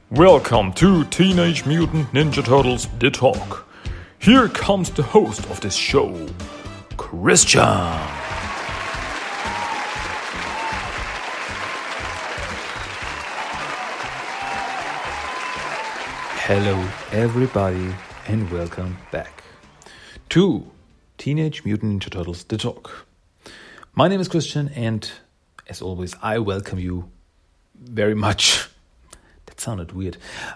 Welcome to Teenage Mutant Ninja Turtles The Talk. Here comes the host of this show, Christian. Hello everybody and welcome back to Teenage Mutant Ninja Turtles The Talk. My name is Christian and as always I welcome you very much. That sounded weird.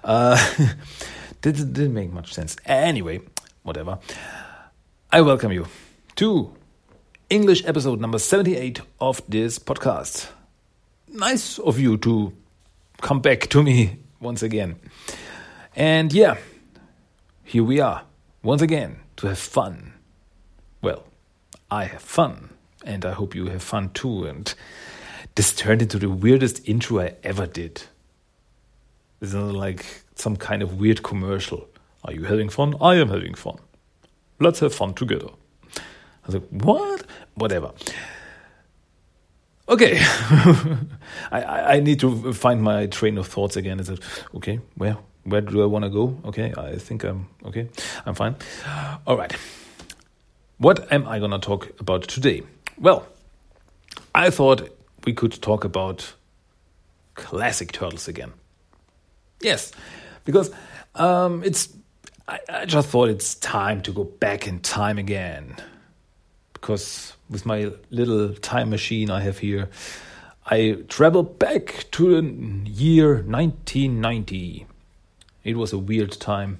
Didn't make much sense. Anyway, whatever. I welcome you to English episode number 78 of this podcast. Nice of you to come back to me once again. And yeah, here we are once again to have fun. Well, I have fun and I hope you have fun too. And this turned into the weirdest intro I ever did. It's like some kind of weird commercial. Are you having fun? I am having fun. Let's have fun together. I was like, what? Whatever. Okay. I need to find my train of thoughts again. Is it okay? Where do I want to go? Okay, I think I'm okay. I'm fine. All right. What am I going to talk about today? Well, I thought we could talk about classic Turtles again. Yes, because I just thought it's time to go back in time again. Because with my little time machine I have here, I traveled back to the year 1990. It was a weird time.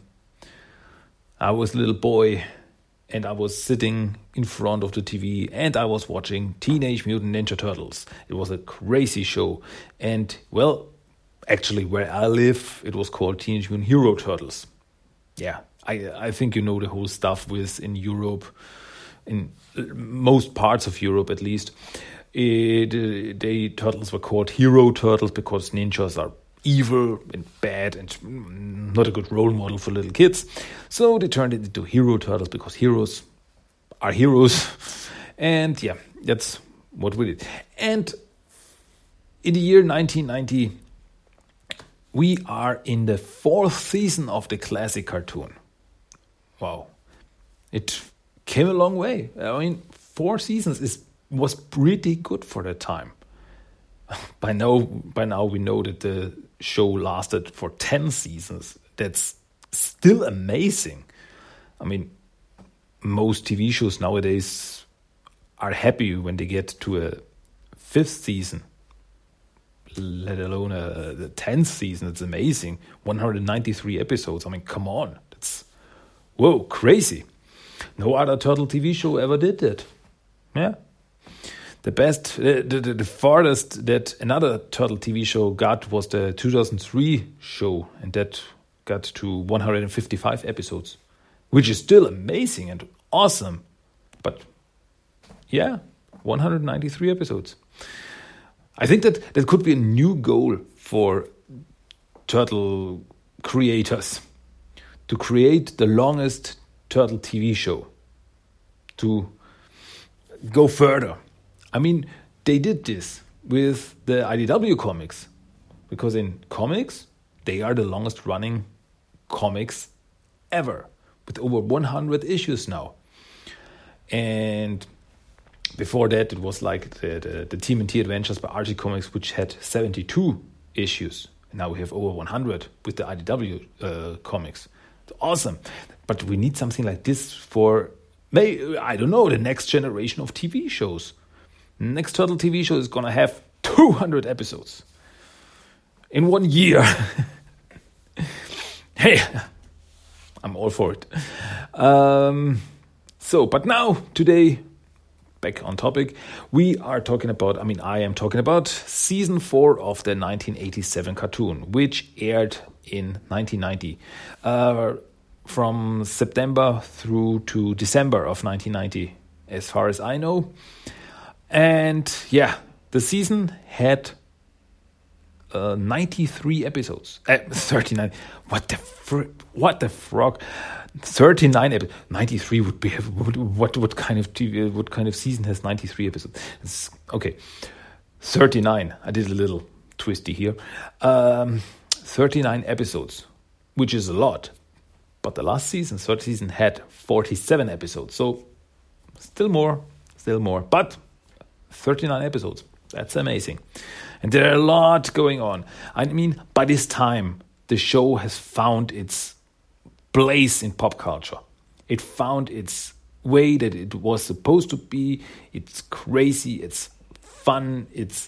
I was a little boy and I was sitting in front of the TV and I was watching Teenage Mutant Ninja Turtles. It was a crazy show. And, well, actually, where I live, it was called Teenage Mutant Hero Turtles. Yeah, I think you know the whole stuff with in Europe, in most parts of Europe at least. The turtles were called Hero Turtles because ninjas are evil and bad and not a good role model for little kids. So they turned it into Hero Turtles because heroes are heroes. And yeah, that's what we did. And in the year 1990, we are in the 4th season of the classic cartoon. Wow. It came a long way. I mean, 4 seasons was pretty good for the time. By now we know that the show lasted for 10 seasons. That's still amazing. I mean, most TV shows nowadays are happy when they get to a 5th season. Let alone the 10th season. It's amazing. 193 episodes. I mean, come on. That's, whoa, crazy. No other Turtle TV show ever did that. Yeah. The best, the farthest that another Turtle TV show got was the 2003 show. And that got to 155 episodes. Which is still amazing and awesome. But, yeah, 193 episodes. I think that could be a new goal for Turtle creators. To create the longest Turtle TV show. To go further. I mean, they did this with the IDW comics. Because in comics, they are the longest running comics ever. With over 100 issues now. And before that, it was like the TMNT Adventures by Archie Comics, which had 72 issues. And now we have over 100 with the IDW comics. It's awesome. But we need something like this for, I don't know, the next generation of TV shows. The next Turtle TV show is going to have 200 episodes. In 1 year. Hey, I'm all for it. But now, today, back on topic, we are talking about, I am talking about season 4 of the 1987 cartoon, which aired in 1990, from September through to December of 1990, as far as I know. And yeah, the season had 93 episodes. 39. What the frog? 39 episodes. 93 would be what kind of TV? What kind of season has 93 episodes? Okay, 39. I did a little twisty here. 39 episodes, which is a lot. But the last season, third season, had 47 episodes. So still more. But 39 episodes. That's amazing. And there are a lot going on. I mean, by this time, the show has found its place in pop culture. It found its way that it was supposed to be. It's crazy. It's fun. It's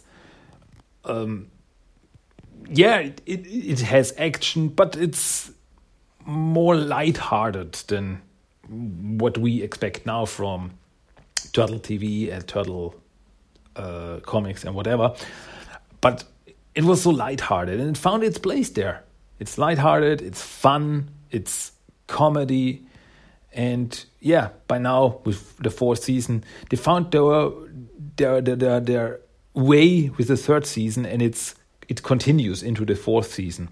it has action, but it's more lighthearted than what we expect now from Turtle TV and Turtle comics and whatever. But it was so lighthearted, and it found its place there. It's lighthearted, it's fun, it's comedy, and yeah, by now with the fourth season, they found their way with the third season, and it continues into the fourth season.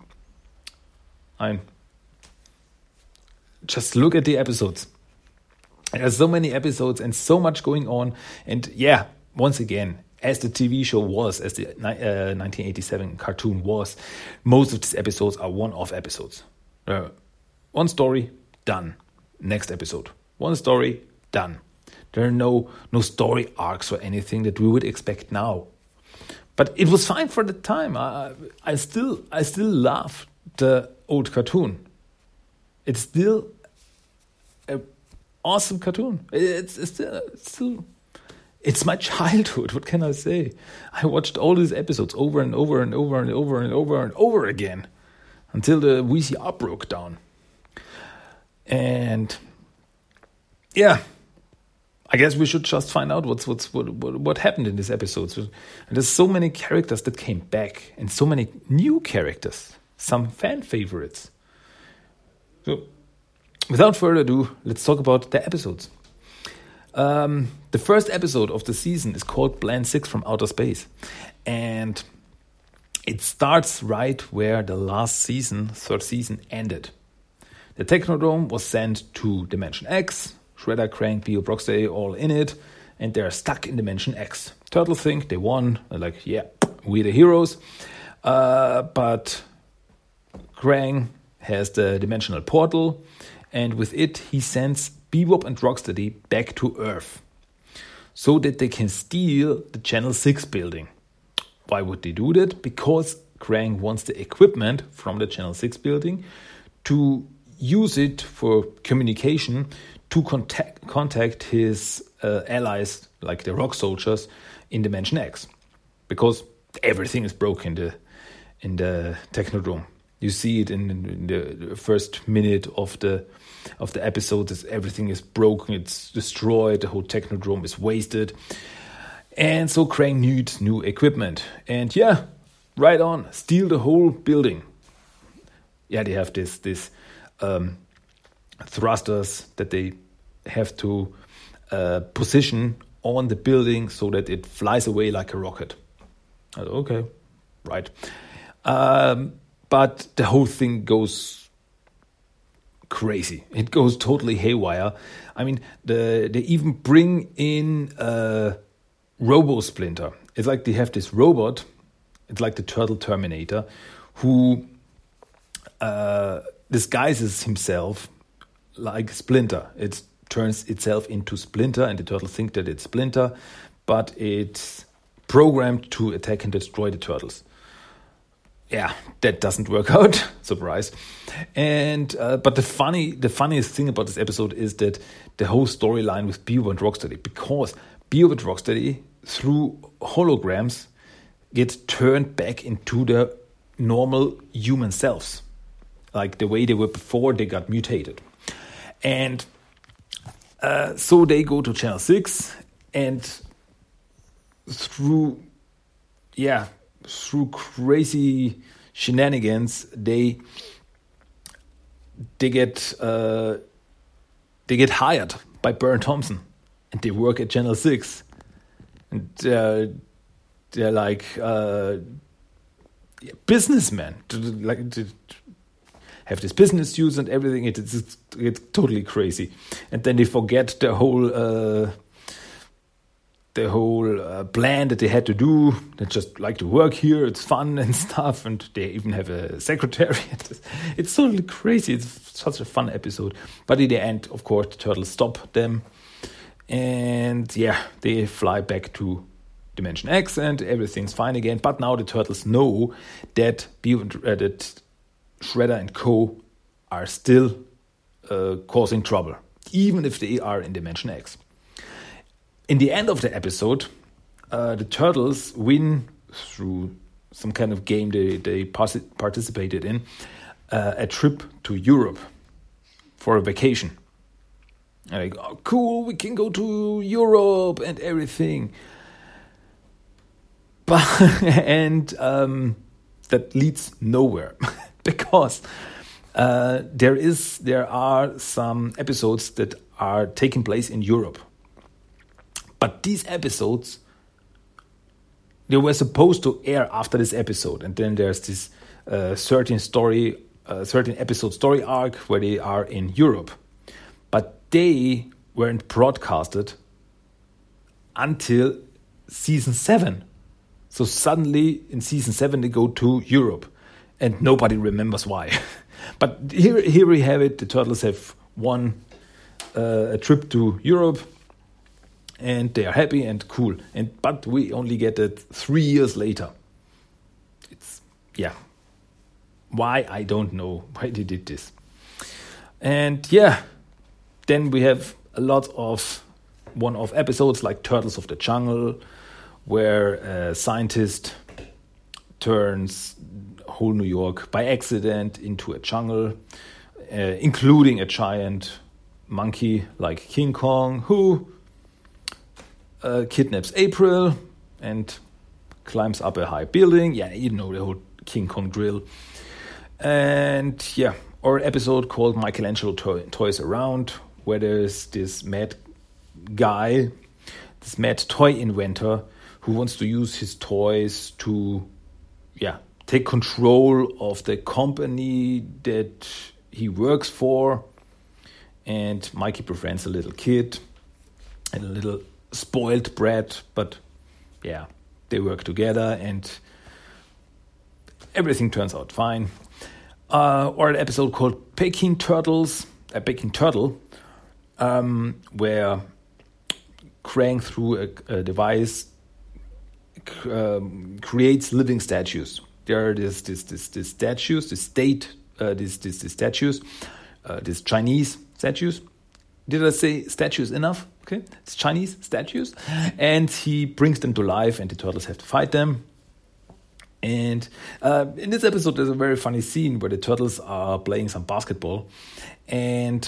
Just look at the episodes. There's so many episodes and so much going on, and yeah, once again, as the TV show was, as the 1987 cartoon was, most of these episodes are one-off episodes. One story, done. Next episode. One story, done. There are no story arcs or anything that we would expect now. But it was fine for the time. I still love the old cartoon. It's still an awesome cartoon. It's still. It's my childhood. What can I say? I watched all these episodes over and over and over and over and over and over again until the VCR broke down. And yeah, I guess we should just find out what happened in these episodes. And there's so many characters that came back and so many new characters, some fan favorites. So, without further ado, let's talk about the episodes. The first episode of the season is called Plan 6 from Outer Space. And it starts right where the last season, third season, ended. The Technodrome was sent to Dimension X. Shredder, Krang, Bio, Brocksteady all in it. And they're stuck in Dimension X. Turtles think they won. They're like, yeah, we're the heroes. But Krang has the dimensional portal. And with it, he sends Bebop and Rocksteady back to Earth so that they can steal the Channel 6 building. Why would they do that? Because Krang wants the equipment from the Channel 6 building to use it for communication to contact his allies, like the Rock Soldiers, in Dimension X. Because everything is broken in the Technodrome. You see it in the first minute of the episode. Everything is broken, it's destroyed, the whole Technodrome is wasted. And so Krang needs new equipment. And yeah, right on, steal the whole building. Yeah, they have this thrusters that they have to position on the building so that it flies away like a rocket. Okay, right. But the whole thing goes crazy. It goes totally haywire. I mean, they even bring in Robo Splinter. It's like they have this robot. It's like the Turtle Terminator, who disguises himself like Splinter. It turns itself into Splinter, and the Turtles think that it's Splinter, but it's programmed to attack and destroy the Turtles. Yeah, that doesn't work out. Surprise. And but the funniest thing about this episode is that the whole storyline with Bio and Rocksteady, because Bio and Rocksteady, through holograms, get turned back into their normal human selves, like the way they were before they got mutated. And so they go to Channel 6, and through crazy shenanigans, they get hired by Byrne Thompson, and they work at Channel 6, and they're like businessmen, to have this business use and everything. It's totally crazy, and then they forget the whole the whole plan that they had to do. They just like to work here. It's fun and stuff. And they even have a secretary. It's totally crazy. It's such a fun episode. But in the end, of course, the turtles stop them. And yeah, they fly back to Dimension X and everything's fine again. But now the turtles know that that Shredder and Co. are still causing trouble, even if they are in Dimension X. In the end of the episode, the turtles win through some kind of game they participated in, a trip to Europe for a vacation. And like, oh, cool, we can go to Europe and everything. But that leads nowhere because there are some episodes that are taking place in Europe. But these episodes, they were supposed to air after this episode. And then there's this certain episode story arc where they are in Europe. But they weren't broadcasted until season 7. So suddenly in season 7 they go to Europe. And nobody remembers why. But here we have it. The turtles have won a trip to Europe. And they are happy and cool. But we only get it 3 years later. Why? I don't know why they did this. And yeah, then we have a lot of one-off episodes like Turtles of the Jungle, where a scientist turns whole New York by accident into a jungle, including a giant monkey like King Kong, who kidnaps April and climbs up a high building. Yeah, you know the whole King Kong drill. And yeah, or an episode called Michelangelo Toys Around, where there's this mad guy, this mad toy inventor who wants to use his toys to, take control of the company that he works for. And Mikey befriends a little kid and a little spoiled brat, but yeah, they work together and everything turns out fine. Or an episode called Peking Turtle, where Krang through a device creates living statues. There are these statues, these Chinese statues. Did I say statues enough? Okay, it's Chinese statues. And he brings them to life and the turtles have to fight them. And in this episode, there's a very funny scene where the turtles are playing some basketball. And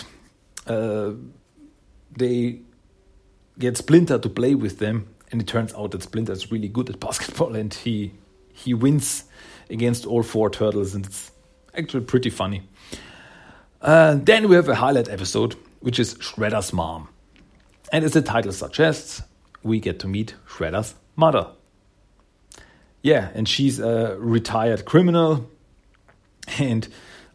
they get Splinter to play with them. And it turns out that Splinter is really good at basketball. And he wins against all 4 turtles. And it's actually pretty funny. Then we have a highlight episode, which is Shredder's mom. And as the title suggests, we get to meet Shredder's mother. Yeah, and she's a retired criminal. And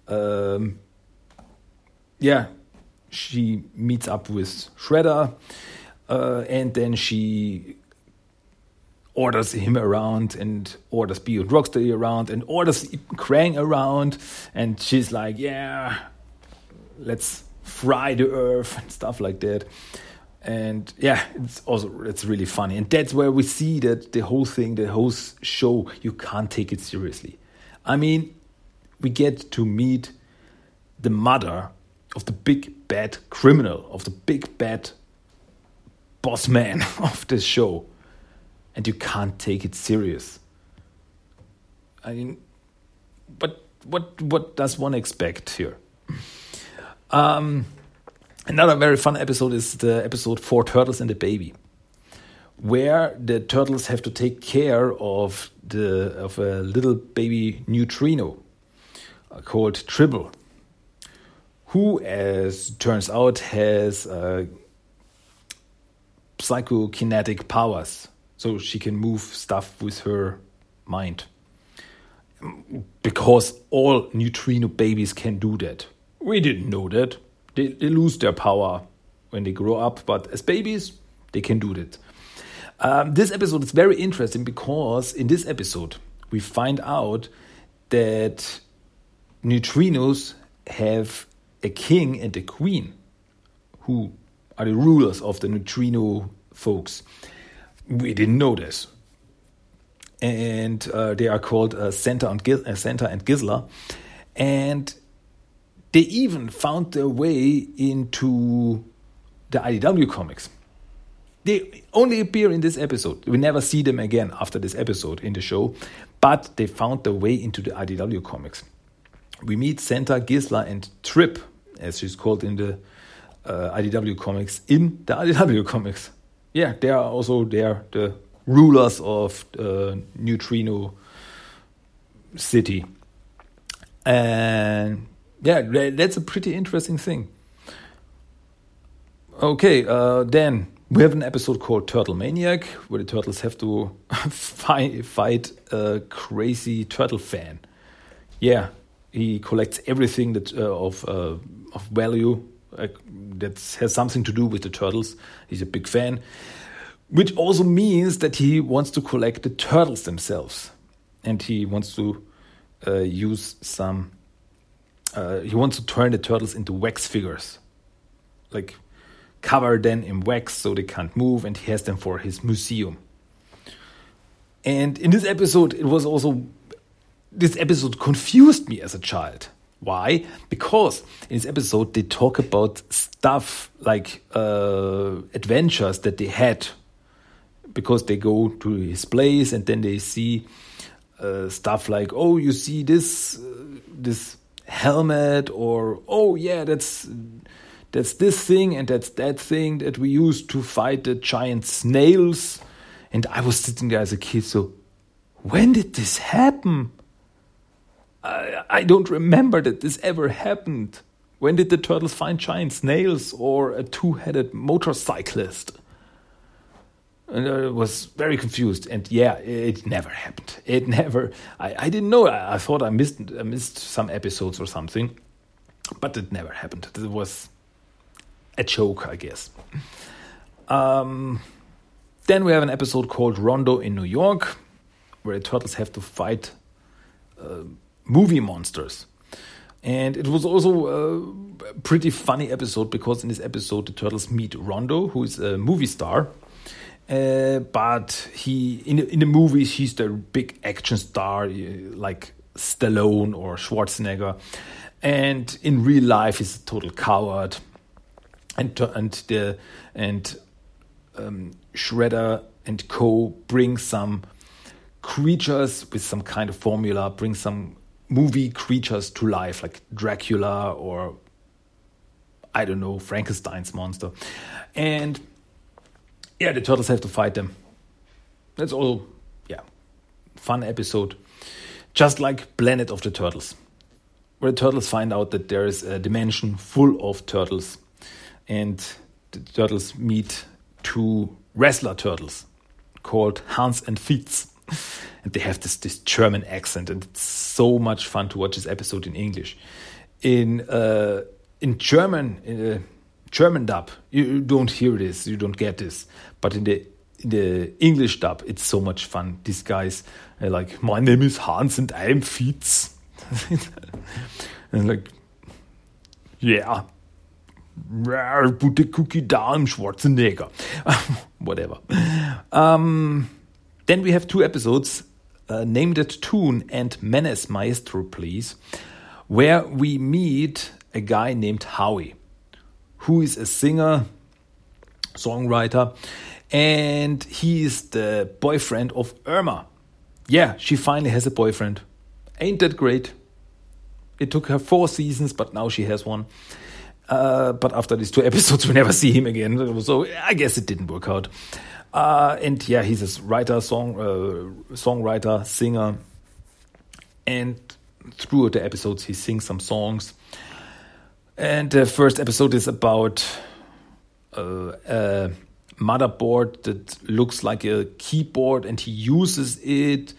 she meets up with Shredder. And then she orders him around and orders Bebop and Rocksteady around and orders Krang around. And she's like, yeah, let's fry the earth and stuff like that. And yeah, it's really funny. And that's where we see that the whole show, you can't take it seriously. I mean, we get to meet the mother of the big bad criminal, of the big bad boss man of this show. And you can't take it serious. I mean, but what does one expect here? Another very fun episode is the episode 4 Turtles and a Baby, where the turtles have to take care of a little baby neutrino called Tribble, who, as turns out, has psychokinetic powers, so she can move stuff with her mind. Because all neutrino babies can do that. We didn't know that. They lose their power when they grow up, but as babies, they can do that. This episode is very interesting because in this episode we find out that neutrinos have a king and a queen who are the rulers of the neutrino folks. We didn't know this. And they are called Senta and Gisela. And they even found their way into the IDW comics. They only appear in this episode. We never see them again after this episode in the show, but they found their way into the IDW comics. We meet Senta, Gisela, and Trip, as she's called in the IDW comics, in the IDW comics. Yeah, they are also the rulers of Neutrino City. And yeah, that's a pretty interesting thing. Okay, then we have an episode called Turtle Maniac, where the turtles have to fight a crazy turtle fan. Yeah, he collects everything that of value that has something to do with the turtles. He's a big fan, which also means that he wants to collect the turtles themselves, and he wants to use some. He wants to turn the turtles into wax figures, like cover them in wax so they can't move, and he has them for his museum. And in this episode, this episode confused me as a child. Why? Because in this episode, they talk about stuff like adventures that they had, because they go to his place and then they see stuff like, oh, you see this helmet, or oh yeah, that's this thing and that's that thing that we used to fight the giant snails. And I was sitting there as a kid, so when did this happen? I don't remember that this ever happened. When did the turtles find giant snails or a two-headed motorcyclist? And I was very confused. And yeah, it never happened. It never. I didn't know. I thought I missed some episodes or something, but it never happened. It was a joke, I guess. Then we have an episode called Rondo in New York, where the turtles have to fight movie monsters. And it was also a pretty funny episode, because in this episode the turtles meet Rondo, who is a movie star. But he in the movies he's the big action star like Stallone or Schwarzenegger, and in real life he's a total coward. And Shredder and Co. bring some creatures with some kind of formula, bring some movie creatures to life, like Dracula or, I don't know, Frankenstein's monster. And yeah, the turtles have to fight them. That's all, yeah, fun episode. Just like Planet of the Turtles, where the turtles find out that there is a dimension full of turtles. And the turtles meet two wrestler turtles called Hans and Fitz. And they have this German accent, and it's so much fun to watch this episode in English. In German dub, you don't hear this, you don't get this. But in the English dub, it's so much fun. These guys are like, my name is Hans and I'm Fitz. And like, yeah. Put the cookie down, Schwarzenegger. Whatever. Then we have two episodes, Named It Toon and Menace Maestro, Please, where we meet a guy named Howie, who is a singer, songwriter, and he is the boyfriend of Irma. Yeah, she finally has a boyfriend. Ain't that great? It took her 4 seasons, but now she has one. But after these 2 episodes, we never see him again. So I guess it didn't work out. And yeah, he's a writer, songwriter, singer. And throughout the episodes, he sings some songs. And the first episode is about a motherboard that looks like a keyboard, and he uses it.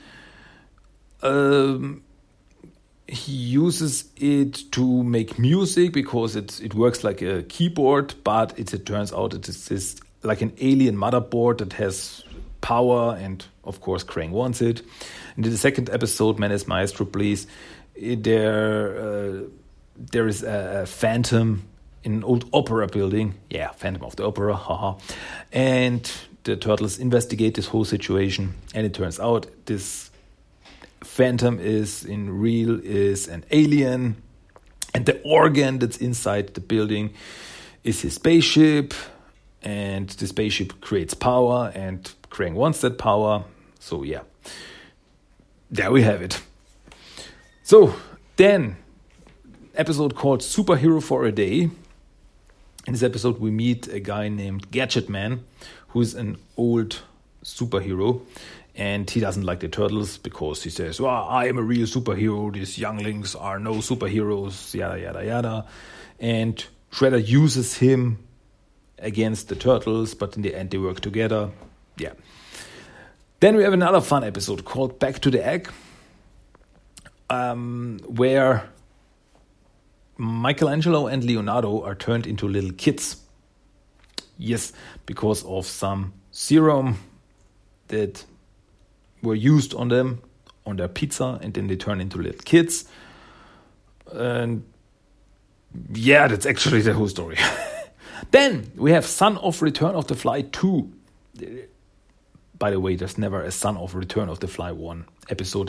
He uses it to make music because it works like a keyboard, but it turns out it is like an alien motherboard that has power, and of course Krang wants it. And in the second episode, Menace Maestro, please, there is a phantom in an old opera building. Yeah, Phantom of the Opera, haha. And the turtles investigate this whole situation, and it turns out this phantom is an alien, and the organ that's inside the building is his spaceship, and the spaceship creates power, and Krang wants that power. So yeah, there we have it. So then, episode called Superhero for a Day. In this episode, we meet a guy named Gadget Man, who's an old superhero, and he doesn't like the turtles because he says, well, I am a real superhero, these younglings are no superheroes, yada, yada, yada. And Shredder uses him against the turtles, but in the end they work together. Yeah. Then we have another fun episode called Back to the Egg, where Michelangelo and Leonardo are turned into little kids. Yes, because of some serum that were used on them, on their pizza, and then they turn into little kids. And yeah, that's actually the whole story. Then we have Son of Return of the Fly 2. By the way, there's never a Son of Return of the Fly 1 episode.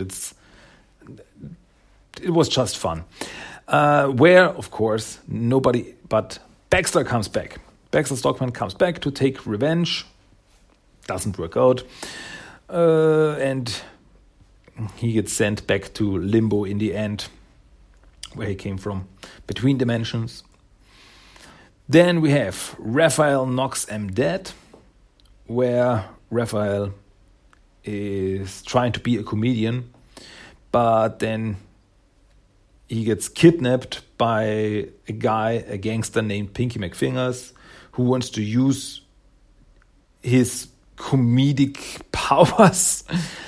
It was just fun. Where, of course, nobody but Baxter comes back. Baxter Stockman comes back to take revenge. Doesn't work out. And he gets sent back to Limbo in the end, where he came from, between dimensions. Then we have Raphael Knocks 'Em Dead, where Raphael is trying to be a comedian, but then he gets kidnapped by a gangster named Pinky McFingers, who wants to use his comedic powers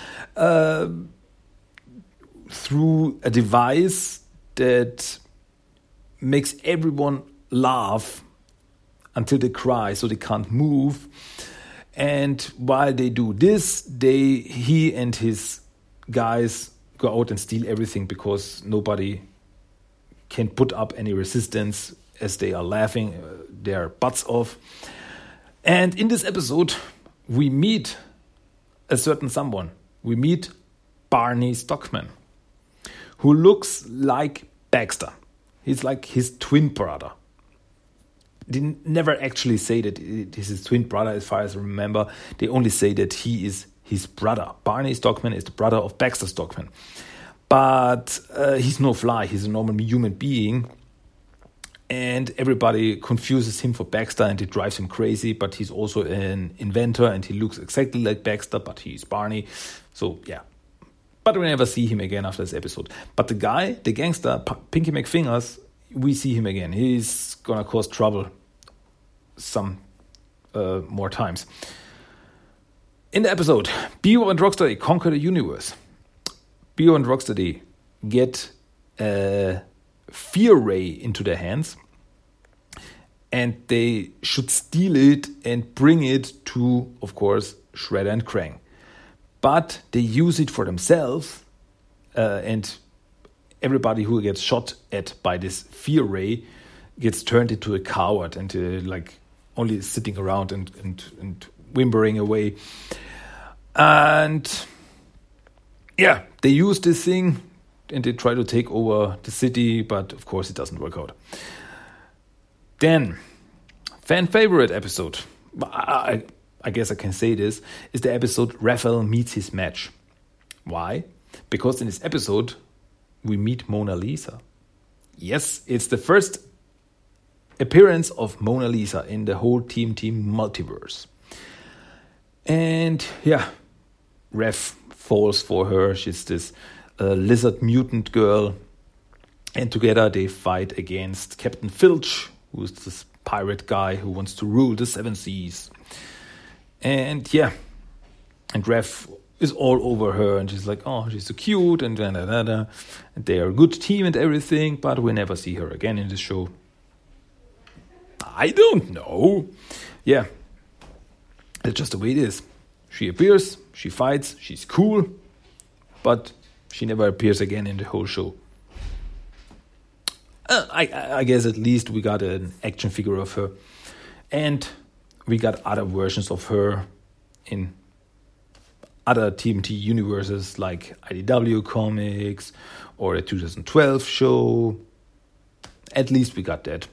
through a device that makes everyone laugh until they cry, so they can't move. And while they do this, he and his guys go out and steal everything, because nobody can put up any resistance as they are laughing their butts off. And in this episode, we meet a certain someone. We meet Barney Stockman, who looks like Baxter. He's like his twin brother. They never actually say that it is his twin brother, as far as I remember. They only say that he is his brother. Barney Stockman is the brother of Baxter Stockman. But he's no fly. He's a normal human being. And everybody confuses him for Baxter, and it drives him crazy. But he's also an inventor, and he looks exactly like Baxter, but he's Barney. So, yeah. But we never see him again after this episode. But the guy, the gangster, Pinky McFingers, we see him again. He's gonna cause trouble some more times. In the episode, Bebop and Rocksteady conquer the universe. Bebop and Rocksteady get a fear ray into their hands, and they should steal it and bring it to, of course, Shredder and Krang. But they use it for themselves, and everybody who gets shot at by this fear ray gets turned into a coward and only sitting around and whimpering away. And yeah, they use this thing and they try to take over the city, but of course it doesn't work out. Then, fan favorite episode, I guess I can say this, is the episode Raphael Meets His Match. Why? Because in this episode, we meet Mona Lisa. Yes, it's the first appearance of Mona Lisa in the whole Team multiverse. And yeah, Raph falls for her. She's this lizard mutant girl. And together they fight against Captain Filch, who's this pirate guy who wants to rule the seven seas. And yeah, and Raph is all over her, and she's like, oh, she's so cute, and and they are a good team and everything, but we never see her again in the show. I don't know. Yeah, that's just the way it is. She appears, she fights, she's cool, but she never appears again in the whole show. I guess at least we got an action figure of her. And we got other versions of her in other TMT universes like IDW Comics or a 2012 show. At least we got that.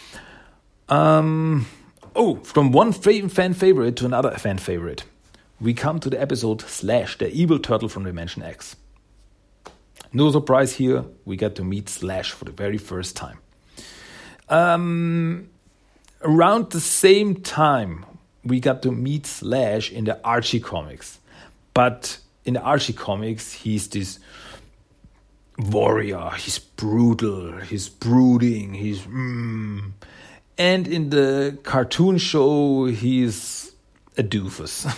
From one fan favorite to another fan favorite, we come to the episode Slash, the evil turtle from Dimension X. No surprise here, we get to meet Slash for the very first time. Around the same time, we got to meet Slash in the Archie comics. But in the Archie comics, he's this warrior, he's brutal, he's brooding, he's... And in the cartoon show, he's a doofus.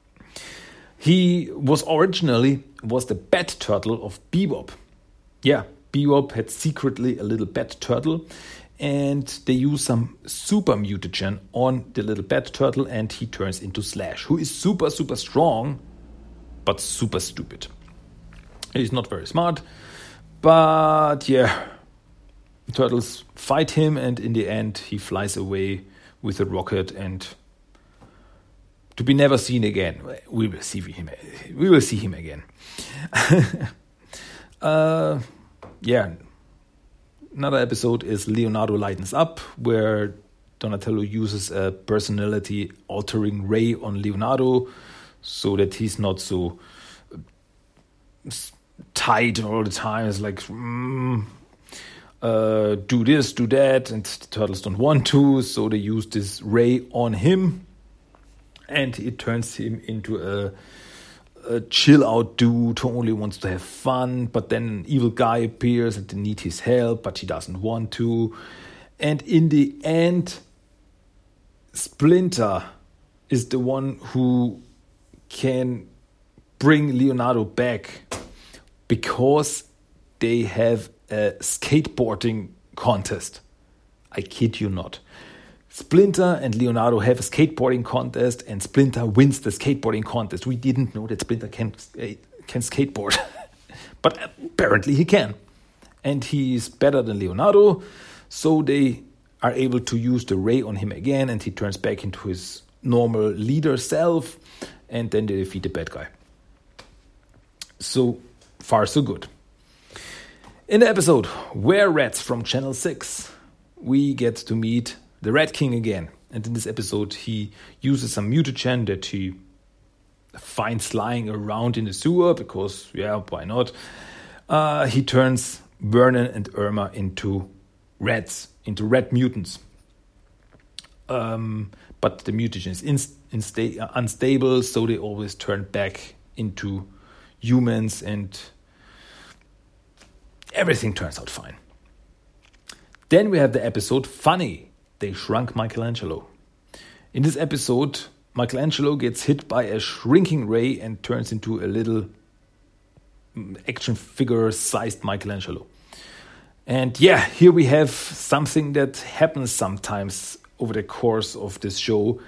He was originally the bat turtle of Bebop. Yeah, Bebop had secretly a little bat turtle, and they use some super mutagen on the little bat turtle, and he turns into Slash, who is super, super strong, but super stupid. He's not very smart, but yeah, turtles fight him, and in the end, he flies away with a rocket and to be never seen again. We will see him again. Another episode is Leonardo Lightens Up, where Donatello uses a personality-altering ray on Leonardo so that he's not so tight all the time. It's like, do this, do that, and the turtles don't want to, so they use this ray on him. And it turns him into a chill-out dude who only wants to have fun. But then an evil guy appears and they need his help, but he doesn't want to. And in the end, Splinter is the one who can bring Leonardo back because they have a skateboarding contest. I kid you not. Splinter and Leonardo have a skateboarding contest, and Splinter wins the skateboarding contest. We didn't know that Splinter can skateboard, but apparently he can. And he's better than Leonardo, so they are able to use the ray on him again, and he turns back into his normal leader self, and then they defeat the bad guy. So far, so good. In the episode Were Rats from Channel 6, we get to meet the Rat King again. And in this episode, he uses some mutagen that he finds lying around in the sewer because, why not? He turns Vernon and Irma into rats, into rat mutants. But the mutagen is unstable, so they always turn back into humans and everything turns out fine. Then we have the episode Funny. They shrunk Michelangelo. In this episode, Michelangelo gets hit by a shrinking ray and turns into a little action figure-sized Michelangelo. And here we have something that happens sometimes over the course of this show.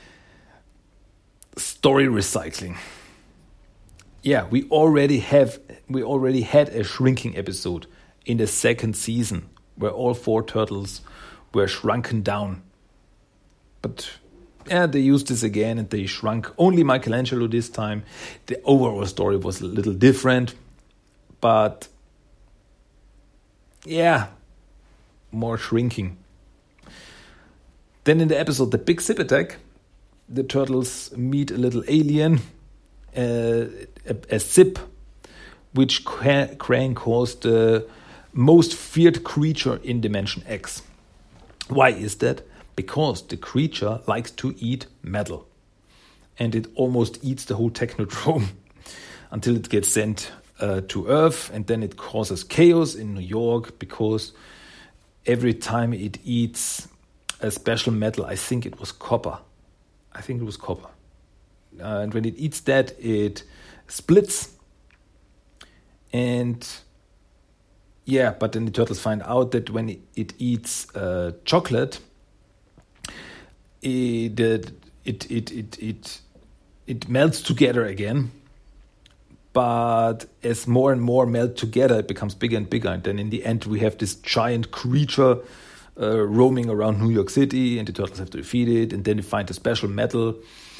Story recycling. We already had a shrinking episode in the second season where all 4 turtles were shrunken down. But they used this again and they shrunk only Michelangelo this time. The overall story was a little different, but more shrinking. Then in the episode The Big Zip Attack, the turtles meet a little alien, a zip, which Krang calls the most feared creature in Dimension X. Why is that? Because the creature likes to eat metal. And it almost eats the whole Technodrome until it gets sent to Earth. And then it causes chaos in New York because every time it eats a special metal, I think it was copper. And when it eats that, it splits. And but then the turtles find out that when it eats chocolate, it it melts together again. But as more and more melt together, it becomes bigger and bigger. And then in the end, we have this giant creature roaming around New York City, and the turtles have to defeat it. And then they find a special metal.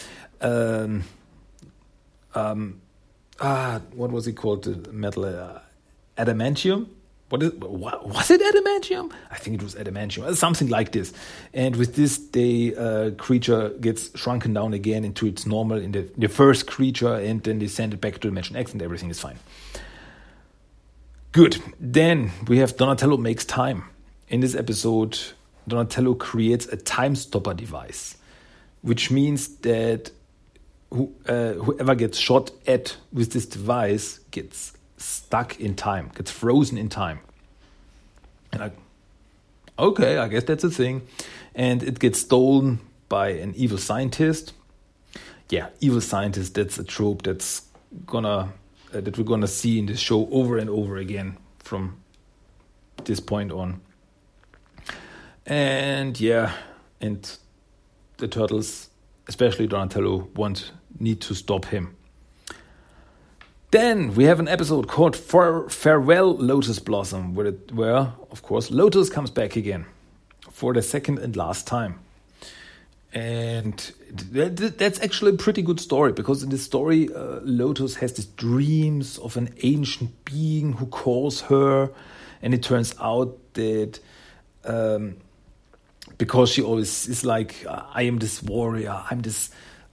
What was it called? The metal adamantium. Was it adamantium? I think it was adamantium, something like this. And with this, the creature gets shrunken down again into its normal, in the first creature, and then they send it back to Dimension X, and everything is fine. Good. Then we have Donatello Makes Time. In this episode, Donatello creates a time stopper device, which means that whoever gets shot at with this device gets stuck in time, gets frozen in time. And I guess that's a thing. And it gets stolen by an evil scientist. Yeah, evil scientist, that's a trope that we're gonna see in this show over and over again from this point on. And yeah, and the turtles, especially Donatello, need to stop him. Then we have an episode called Farewell Lotus Blossom, where, of course, Lotus comes back again for the second and last time. And that's actually a pretty good story, because in this story, Lotus has these dreams of an ancient being who calls her, and it turns out that because she always is like, I am this warrior, I'm this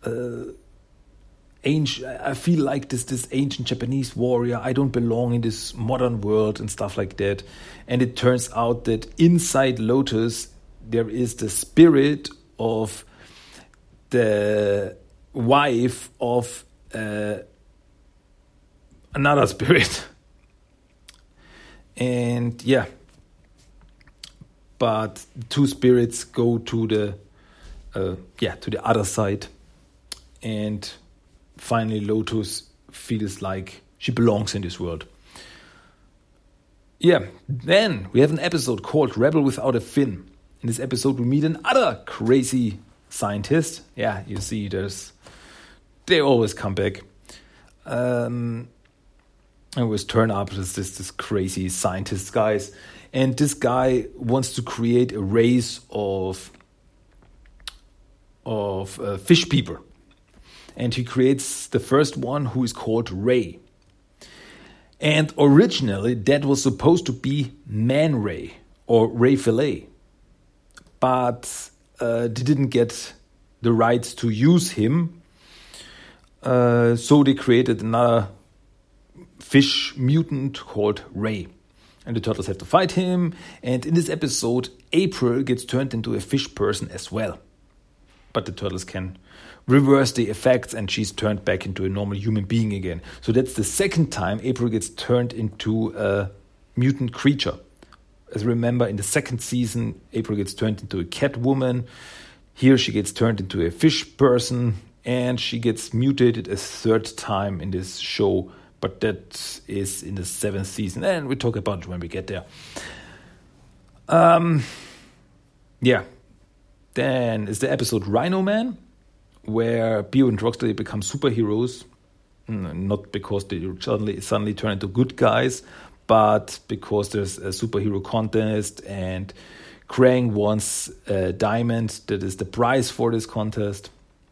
I feel like this ancient Japanese warrior. I don't belong in this modern world and stuff like that. And it turns out that inside Lotus there is the spirit of the wife of another spirit. And yeah, but two spirits go to the other side, and finally, Lotus feels like she belongs in this world. Yeah, then we have an episode called Rebel Without a Fin. In this episode, we meet another crazy scientist. Yeah, you see, they always come back. And always turn up as this crazy scientist guys. And this guy wants to create a race of fish people. And he creates the first one, who is called Ray. And originally, that was supposed to be Man Ray, or Ray Fillet. But they didn't get the rights to use him. So they created another fish mutant called Ray. And the turtles have to fight him. And in this episode, April gets turned into a fish person as well. But the turtles can reverse the effects, and she's turned back into a normal human being again. So that's the second time April gets turned into a mutant creature. As remember, in the second season, April gets turned into a cat woman. Here she gets turned into a fish person, and she gets mutated a third time in this show. But that is in the 7th season, and we'll talk about it when we get there. Yeah. Then is the episode Rhino Man, where Bio and Rocksteady become superheroes, not because they suddenly turn into good guys, but because there's a superhero contest, and Krang wants a diamond that is the prize for this contest.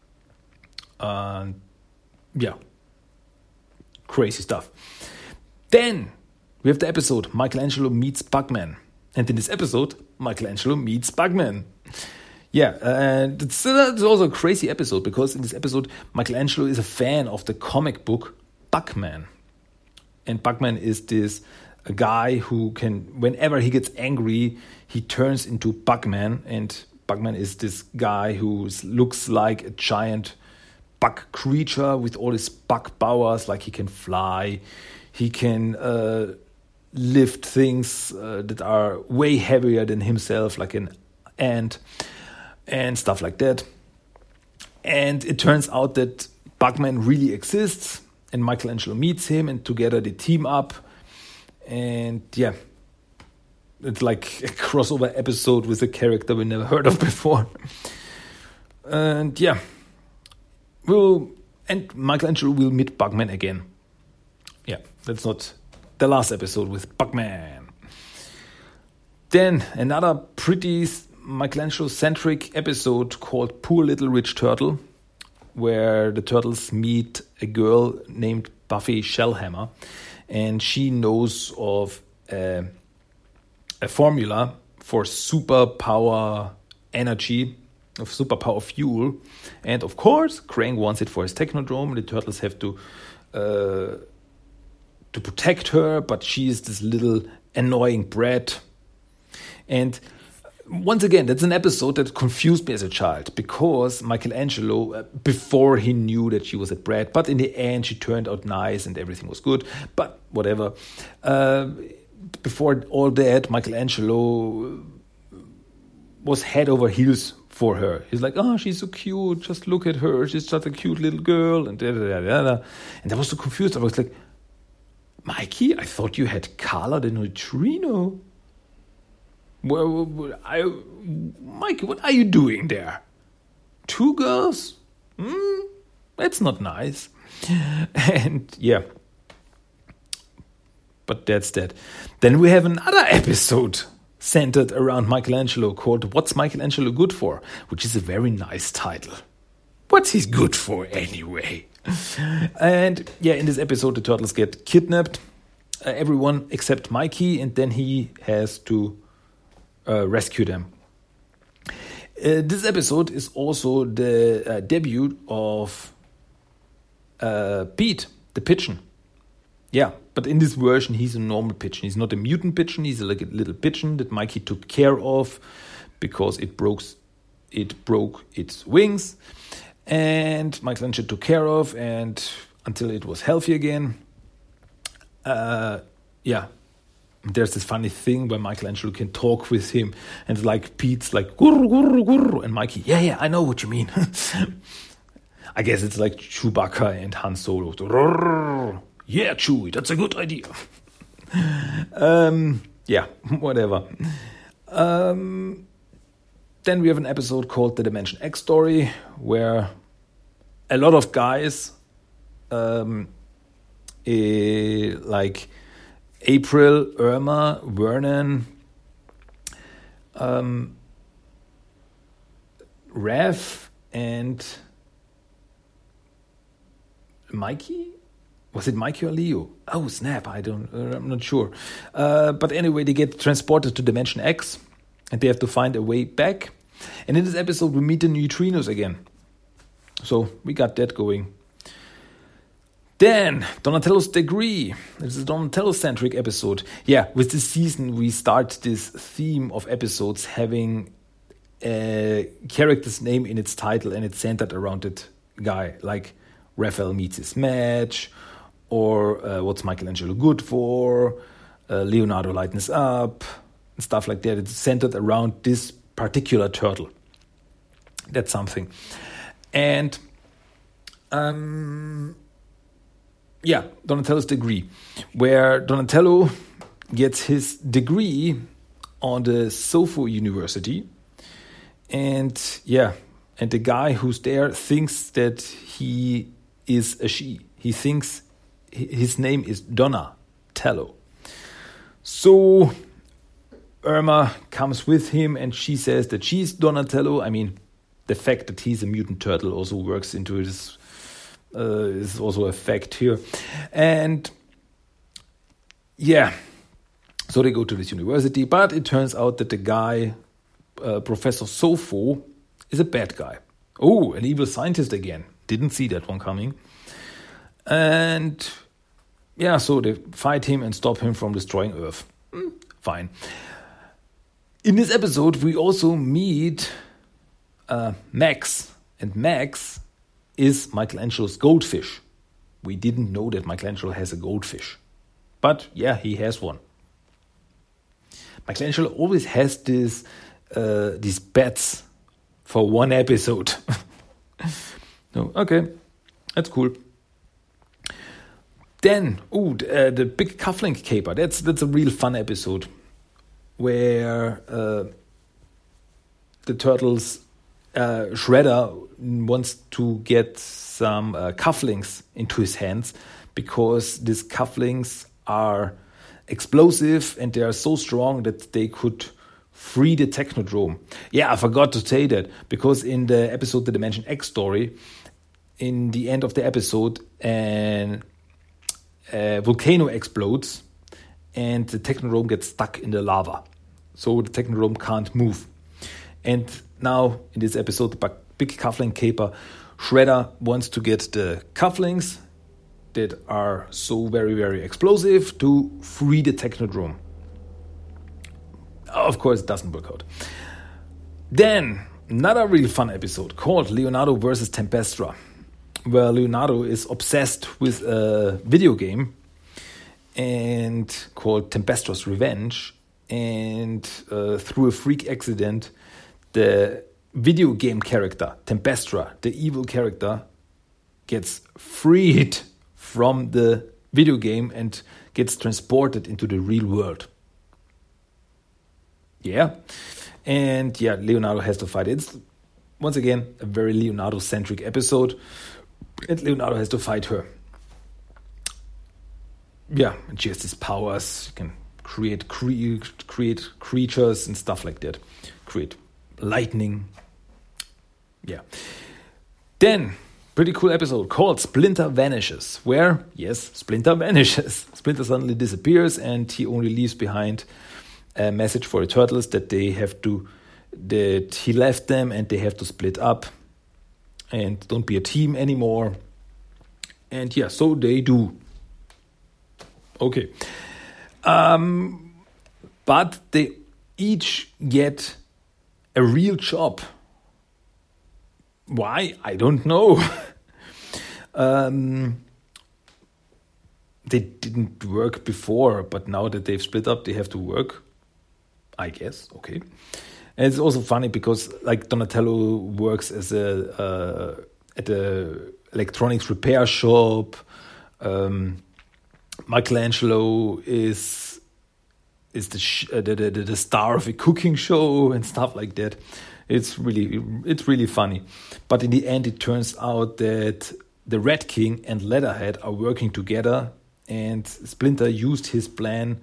Yeah, crazy stuff. Then we have the episode Michelangelo Meets Bugman, and in this episode, Michelangelo meets Bugman. Yeah, and it's also a crazy episode, because in this episode, Michelangelo is a fan of the comic book Bugman. And Bugman is a guy who can, whenever he gets angry, he turns into Bugman. And Bugman is this guy who looks like a giant bug creature with all his bug powers, like he can fly, he can lift things that are way heavier than himself, like an ant, and stuff like that. And it turns out that Bugman really exists, and Michelangelo meets him, and together they team up. And yeah, it's like a crossover episode with a character we never heard of before. And yeah, we'll And Michelangelo will meet Bugman again. Yeah, that's not the last episode with Bugman. Then another pretty Michelangelo-centric episode called Poor Little Rich Turtle, where the turtles meet a girl named Buffy Shellhammer, and she knows of a formula for superpower energy, of superpower fuel, and of course Krang wants it for his Technodrome. The turtles have to protect her, but she is this little annoying brat. And once again, that's an episode that confused me as a child, because Michelangelo, before he knew that she was a brat, but in the end she turned out nice and everything was good, but whatever. Before all that, Michelangelo was head over heels for her. He's like, oh, she's so cute, just look at her, she's just a cute little girl, and da-da-da-da-da. And I was so confused. I was like, Mikey, I thought you had Carla the Neutrino. Well, Mikey, what are you doing there? 2 girls? That's not nice. And yeah. But that's that. Then we have another episode centered around Michelangelo called What's Michelangelo Good For? Which is a very nice title. What's he good for anyway? And yeah, in this episode the turtles get kidnapped. Everyone except Mikey, and then he has to rescue them. This episode is also the debut of Pete, the pigeon. Yeah, but in this version, he's a normal pigeon. He's not a mutant pigeon. He's like a little pigeon that Mikey took care of because it broke its wings. And Michelangelo took care of, and until it was healthy again. Yeah. There's this funny thing where Michelangelo can talk with him, and like Pete's like gurr, gurr, gurr, and Mikey, yeah, I know what you mean. I guess it's like Chewbacca and Han Solo. Yeah, Chewie, that's a good idea. Yeah, whatever. Then we have an episode called The Dimension X Story, where a lot of guys, like April, Irma, Vernon, Rev, and Mikey? Was it Mikey or Leo? Oh, snap, I'm not sure. But anyway, they get transported to Dimension X, and they have to find a way back. And in this episode, we meet the neutrinos again. So we got that going. Then, Donatello's Degree. This is a Donatello-centric episode. Yeah, with this season, we start this theme of episodes having a character's name in its title, and it's centered around that guy. Like, Raphael meets his match, or What's Michelangelo Good For? Leonardo Lightens Up, and stuff like that. It's centered around this particular turtle. That's something. And yeah, Donatello's Degree, where Donatello gets his degree on the Sofo University. And yeah, and the guy who's there thinks that he is a she. He thinks his name is Donatello. So Irma comes with him, and she says that she's Donatello. I mean, the fact that he's a mutant turtle also works into this. Is also a fact here. And yeah, so they go to this university, but it turns out that the guy, Professor Sofo, is a bad guy. Oh, an evil scientist again. Didn't see that one coming. And yeah, so they fight him and stop him from destroying Earth. Fine. In this episode, we also meet Max. And Max is Michelangelo's goldfish. We didn't know that Michelangelo has a goldfish. But yeah, he has one. Michelangelo always has these bets for one episode. No, okay, that's cool. Then, the big cufflink caper. That's a real fun episode where the turtles, Shredder wants to get some cufflinks into his hands because these cufflinks are explosive and they are so strong that they could free the Technodrome. Yeah, I forgot to say that because in the episode The Dimension X story, in the end of the episode, a volcano explodes and the Technodrome gets stuck in the lava. So the Technodrome can't move. And now in this episode, the big cufflink caper, Shredder wants to get the cufflinks that are so very, very explosive to free the Technodrome. Of course, it doesn't work out. Then, another really fun episode called Leonardo vs. Tempestra, where Leonardo is obsessed with a video game and called Tempestra's Revenge. And through a freak accident, the video game character, Tempestra, the evil character, gets freed from the video game and gets transported into the real world. Yeah. And yeah, Leonardo has to fight. It's, once again, a very Leonardo-centric episode. And Leonardo has to fight her. Yeah, and she has these powers. She can create creatures and stuff like that. Create lightning. Yeah. Then, pretty cool episode called Splinter Vanishes, where, yes, Splinter vanishes. Splinter suddenly disappears and he only leaves behind a message for the turtles that he left them and they have to split up and don't be a team anymore. And yeah, so they do. Okay. But they each get a real job. Why? I don't know. They didn't work before, but now that they've split up, they have to work. I guess. Okay. And it's also funny because like Donatello works as at a electronics repair shop. Michelangelo is the star of a cooking show and stuff like that. It's really funny. But in the end, it turns out that the Red King and Leatherhead are working together, and Splinter used his plan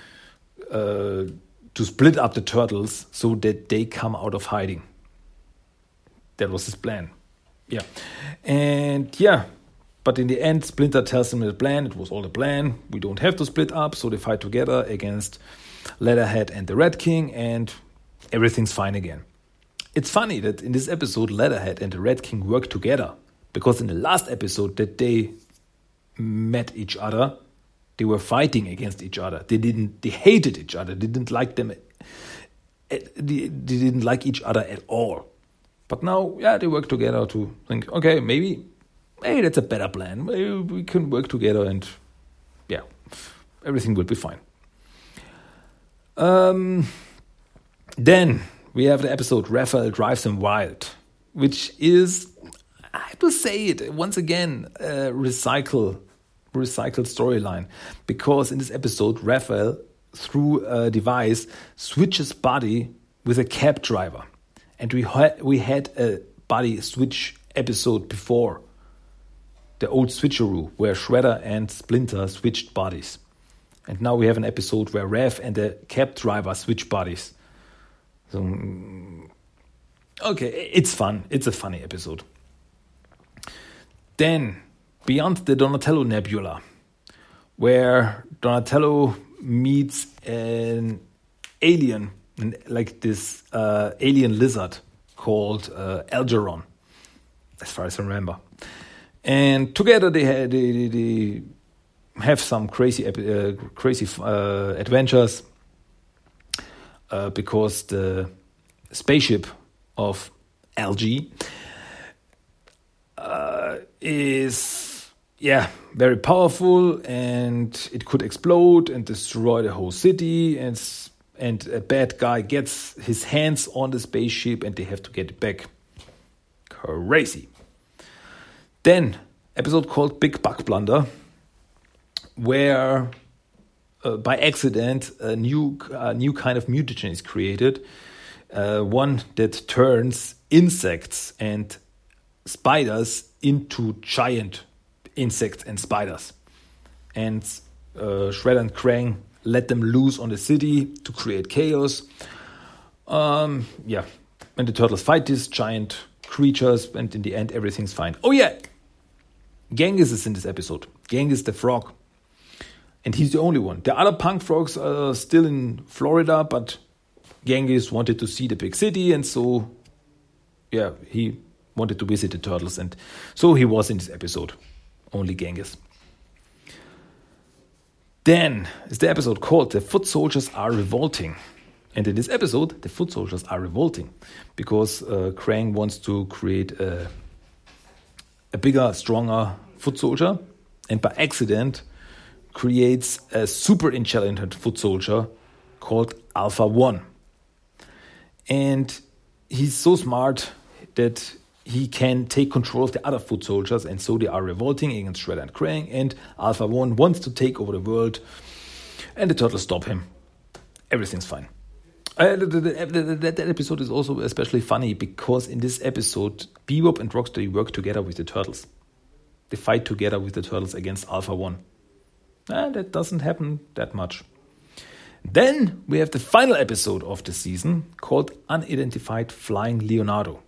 to split up the turtles so that they come out of hiding. That was his plan. Yeah. And yeah, but in the end, Splinter tells them the plan. It was all the plan. We don't have to split up. So they fight together against Leatherhead and the Red King, and everything's fine again. It's funny that in this episode, Leatherhead and the Red King work together, because in the last episode that they met each other, they were fighting against each other. They hated each other. They didn't like them. They didn't like each other at all. But now, yeah, they work together to think, okay, maybe that's a better plan. Maybe we can work together and, yeah, everything will be fine. Then we have the episode Raphael Drives Him Wild, which is, I have to say it once again, recycled storyline, because in this episode Raphael, through a device, switches body with a cab driver, and we had a body switch episode before, the old switcheroo where Shredder and Splinter switched bodies, and now we have an episode where Raph and the cab driver switch bodies. So okay, it's fun. It's a funny episode. Then, Beyond the Donatello Nebula, where Donatello meets an alien, like this alien lizard called Algeron, as far as I remember. And together they have some crazy adventures, because the spaceship of LG is very powerful, and it could explode and destroy the whole city, and a bad guy gets his hands on the spaceship and they have to get it back. Crazy. Then episode called Big Bug Blunder, where by accident a new kind of mutagen is created, one that turns insects and spiders into giant insects and spiders. And Shredder and Krang let them loose on the city to create chaos. And the turtles fight these giant creatures, and in the end, everything's fine. Oh yeah, Genghis is in this episode. Genghis the frog. And he's the only one. The other punk frogs are still in Florida, but Genghis wanted to see the big city, and so, he wanted to visit the turtles, and so he was in this episode. Only Genghis. Then is the episode called The Foot Soldiers Are Revolting. And in this episode, the foot soldiers are revolting because Krang wants to create a bigger, stronger foot soldier, and by accident creates a super intelligent foot soldier called Alpha 1. And he's so smart that he can take control of the other foot soldiers, and so they are revolting against Shredder and Krang, and Alpha 1 wants to take over the world, and the turtles stop him. Everything's fine. That episode is also especially funny because in this episode, Bebop and Rocksteady work together with the turtles. They fight together with the turtles against Alpha 1. That doesn't happen that much. Then we have the final episode of the season called Unidentified Flying Leonardo,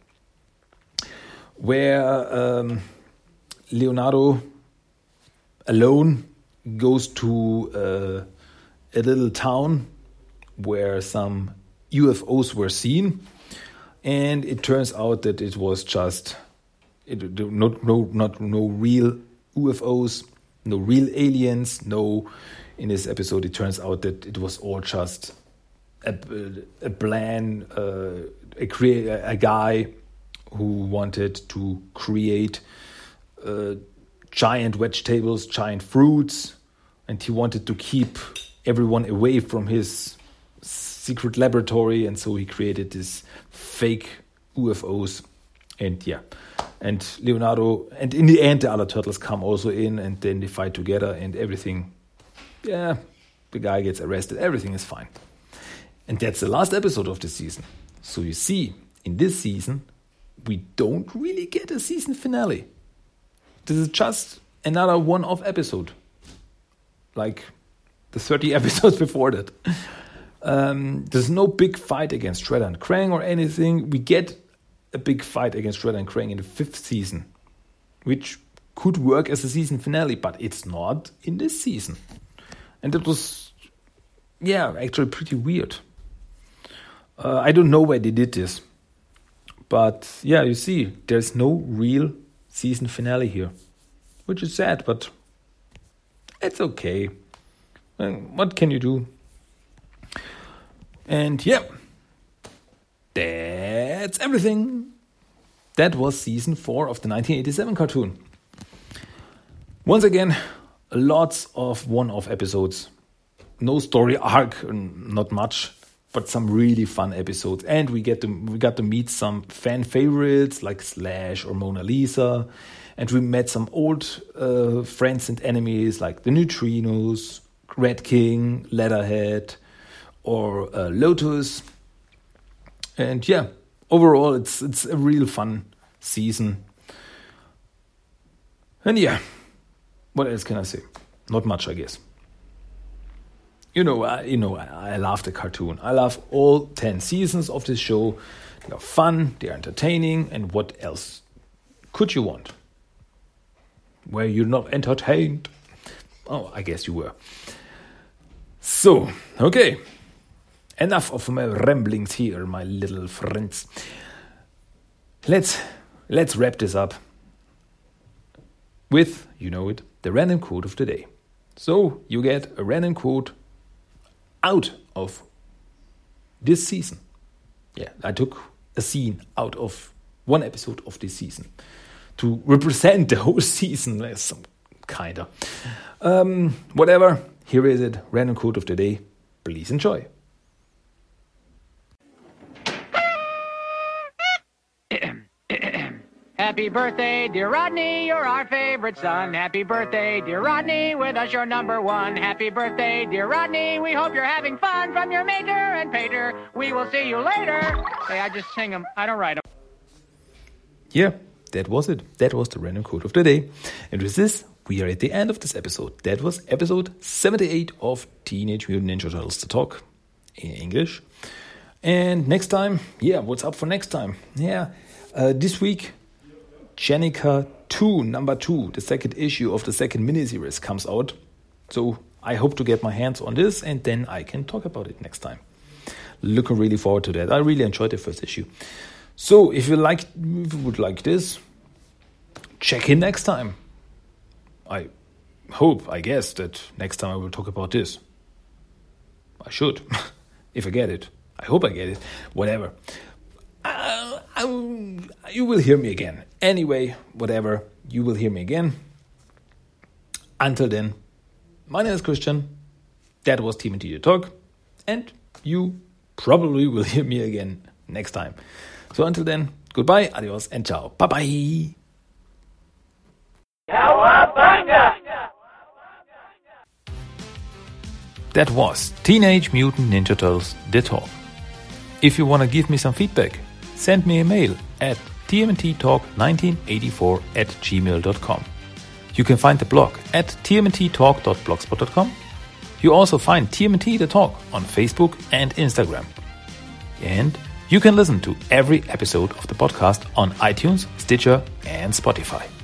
where Leonardo alone goes to a little town where some UFOs were seen, and it turns out that it was just no real UFOs, no real aliens. No, in this episode, it turns out that it was all just a plan, a guy who wanted to create giant vegetables, giant fruits, and he wanted to keep everyone away from his secret laboratory, and so he created this fake UFOs. And Leonardo, and in the end the other turtles come also in, and then they fight together, and everything, the guy gets arrested, everything is fine. And that's the last episode of the season. So you see, in this season we don't really get a season finale. This is just another one-off episode, like the 30 episodes before that. There's no big fight against Shredder and Krang or anything. We get a big fight against Shredder and Krang in the 5th season, which could work as a season finale, but it's not in this season. And it was, actually pretty weird. I don't know why they did this. But, you see, there's no real season finale here, which is sad, but it's okay. What can you do? And that's everything. That was season 4 of the 1987 cartoon. Once again, lots of one-off episodes. No story arc, not much, but some really fun episodes. And we got to meet some fan favorites like Slash or Mona Lisa. And we met some old friends and enemies like the Neutrinos, Red King, Leatherhead, or Lotus. And overall it's a real fun season. And what else can I say? Not much, I guess. I love the cartoon. I love all 10 seasons of this show. They're fun, they're entertaining, and what else could you want? Were you not entertained? Oh, I guess you were. So, okay. Enough of my ramblings here, my little friends. Let's wrap this up with, the random quote of the day. So you get a random quote out of this season. I took a scene out of one episode of this season to represent the whole season, some kind of. Whatever, here is it, random quote of the day. Please enjoy. Happy birthday, dear Rodney, you're our favorite son. Happy birthday, dear Rodney, with us you're number one. Happy birthday, dear Rodney, we hope you're having fun from your mater and pater. We will see you later. Hey, I just sing them, I don't write them. that was it. That was the random quote of the day. And with this, we are at the end of this episode. That was episode 78 of Teenage Mutant Ninja Turtles The Talk in English. And next time, what's up for next time? This week, Jennika 2, number 2, the second issue of the second miniseries comes out. So I hope to get my hands on this and then I can talk about it next time. Looking really forward to that. I really enjoyed the first issue. So if you would like this, check in next time. I guess that next time I will talk about this. I should, if I get it. I hope I get it. Whatever. You will hear me again. Anyway, whatever. You will hear me again. Until then, my name is Christian. That was TMNT The Talk. And you probably will hear me again next time. So until then, goodbye, adios, and ciao. Bye-bye. Cowabunga! That was Teenage Mutant Ninja Turtles The Talk. If you want to give me some feedback, send me a mail at tmnttalk1984@gmail.com. You can find the blog at tmnttalk.blogspot.com. You also find TMNT The Talk on Facebook and Instagram. And you can listen to every episode of the podcast on iTunes, Stitcher, and Spotify.